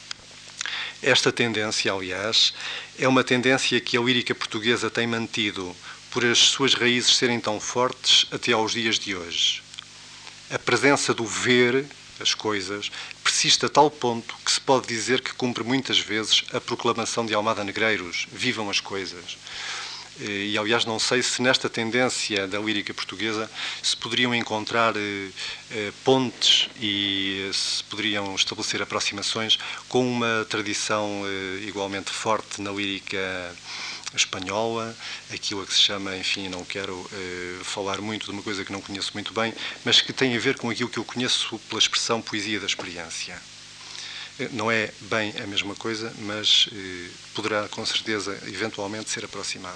Esta tendência, aliás, é uma tendência que a lírica portuguesa tem mantido, por as suas raízes serem tão fortes até aos dias de hoje. A presença do ver as coisas persiste a tal ponto que se pode dizer que cumpre muitas vezes a proclamação de Almada Negreiros: vivam as coisas. E, aliás, não sei se nesta tendência da lírica portuguesa se poderiam encontrar pontes e se poderiam estabelecer aproximações com uma tradição igualmente forte na lírica espanhola, aquilo a que se chama, enfim, não quero falar muito de uma coisa que não conheço muito bem, mas que tem a ver com aquilo que eu conheço pela expressão poesia da experiência. Não é bem a mesma coisa, mas poderá, com certeza, eventualmente ser aproximado.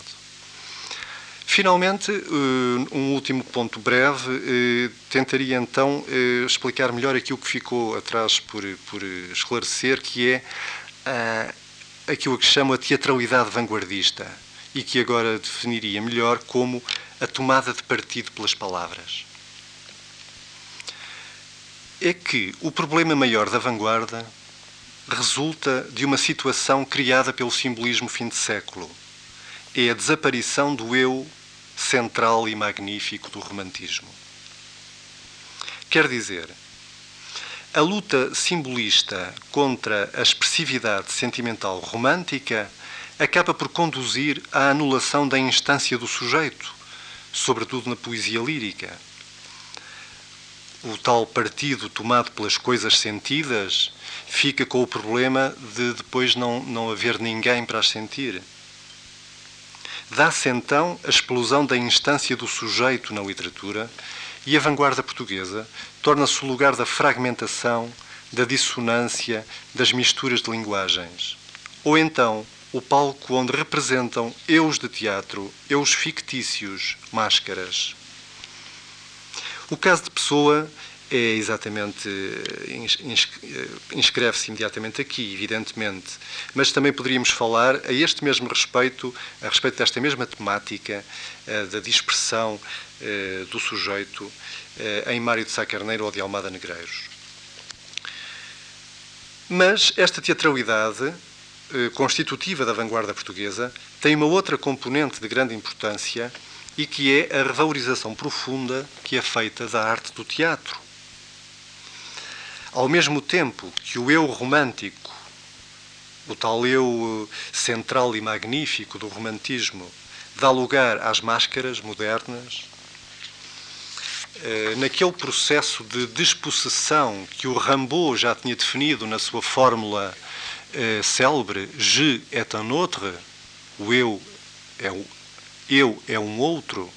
Finalmente, um último ponto breve, tentaria então explicar melhor aquilo que ficou atrás por esclarecer, que é aquilo que chamo a teatralidade vanguardista e que agora definiria melhor como a tomada de partido pelas palavras. É que o problema maior da vanguarda resulta de uma situação criada pelo simbolismo fim de século. É a desaparição do eu central e magnífico do romantismo. Quer dizer, a luta simbolista contra a expressividade sentimental romântica acaba por conduzir à anulação da instância do sujeito, sobretudo na poesia lírica. O tal partido tomado pelas coisas sentidas fica com o problema de depois não haver ninguém para as sentir. Dá-se então a explosão da instância do sujeito na literatura e a vanguarda portuguesa torna-se o lugar da fragmentação, da dissonância, das misturas de linguagens. Ou então, o palco onde representam eus de teatro, eus fictícios, máscaras. O caso de Pessoa é exatamente, inscreve-se imediatamente aqui, evidentemente, mas também poderíamos falar a este mesmo respeito, a respeito desta mesma temática da dispersão do sujeito em Mário de Sá Carneiro ou de Almada Negreiros. Mas esta teatralidade constitutiva da vanguarda portuguesa tem uma outra componente de grande importância e que é a revalorização profunda que é feita da arte do teatro. Ao mesmo tempo que o eu romântico, o tal eu central e magnífico do romantismo, dá lugar às máscaras modernas, naquele processo de despossessão que o Rimbaud já tinha definido na sua fórmula célebre, je est un autre, o eu é um outro,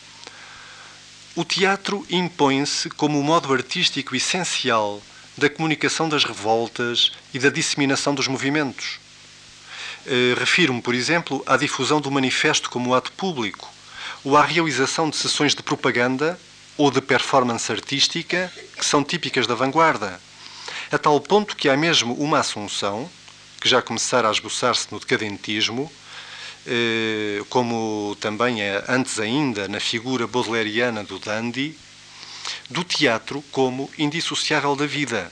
o teatro impõe-se como o modo artístico essencial da comunicação das revoltas e da disseminação dos movimentos. Refiro-me, por exemplo, à difusão do manifesto como ato público, ou à realização de sessões de propaganda ou de performance artística que são típicas da vanguarda, a tal ponto que há mesmo uma assunção, que já começara a esboçar-se no decadentismo, como também é antes ainda na figura baudelariana do dandy, do teatro como indissociável da vida.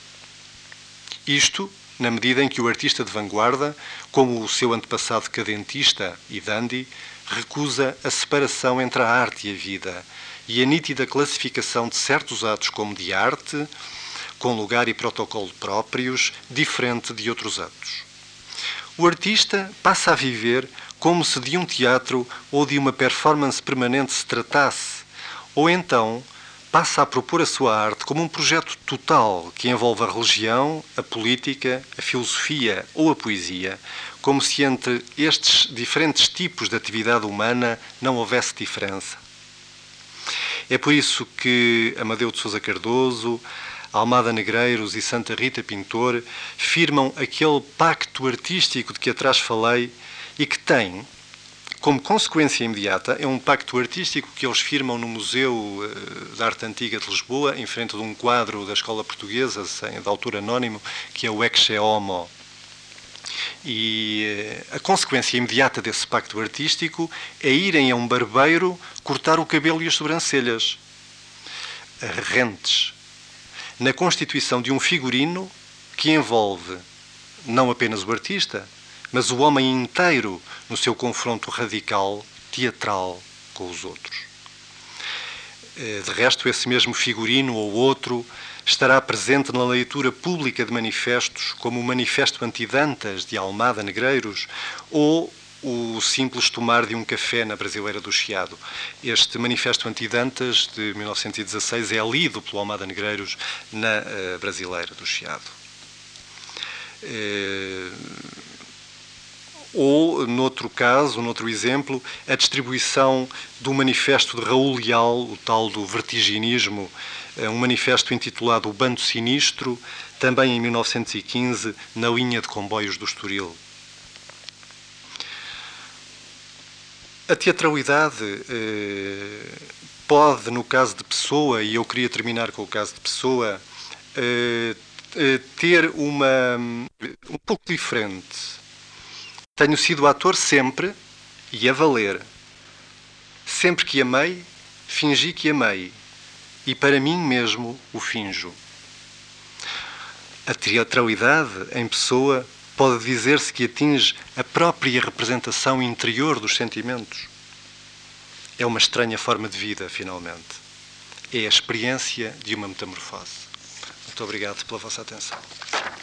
Isto, na medida em que o artista de vanguarda, como o seu antepassado decadentista e dandy, recusa a separação entre a arte e a vida e a nítida classificação de certos atos como de arte, com lugar e protocolo próprios, diferente de outros atos. O artista passa a viver como se de um teatro ou de uma performance permanente se tratasse, ou então passa a propor a sua arte como um projeto total que envolve a religião, a política, a filosofia ou a poesia, como se entre estes diferentes tipos de atividade humana não houvesse diferença. É por isso que Amadeu de Sousa Cardoso, Almada Negreiros e Santa Rita Pintor firmam aquele pacto artístico de que atrás falei e que tem, como consequência imediata, é um pacto artístico que eles firmam no Museu da Arte Antiga de Lisboa, em frente de um quadro da Escola Portuguesa, de autor anónimo, que é o Ecce Homo. E a consequência imediata desse pacto artístico é irem a um barbeiro cortar o cabelo e as sobrancelhas, rentes, na constituição de um figurino que envolve não apenas o artista, mas o homem inteiro no seu confronto radical, teatral, com os outros. De resto, esse mesmo figurino ou outro estará presente na leitura pública de manifestos, como o Manifesto Anti-Dantas de Almada Negreiros ou o simples tomar de um café na Brasileira do Chiado. Este Manifesto Anti-Dantas de 1916 é lido pelo Almada Negreiros na Brasileira do Chiado. Ou, noutro caso, noutro exemplo, a distribuição do manifesto de Raul Leal, o tal do vertiginismo, um manifesto intitulado O Bando Sinistro, também em 1915, na linha de comboios do Estoril. A teatralidade pode, no caso de Pessoa, e eu queria terminar com o caso de Pessoa, ter um pouco diferente. Tenho sido ator sempre e a valer. Sempre que amei, fingi que amei. E para mim mesmo o finjo. A teatralidade, em Pessoa, pode dizer-se que atinge a própria representação interior dos sentimentos. É uma estranha forma de vida, finalmente. É a experiência de uma metamorfose. Muito obrigado pela vossa atenção.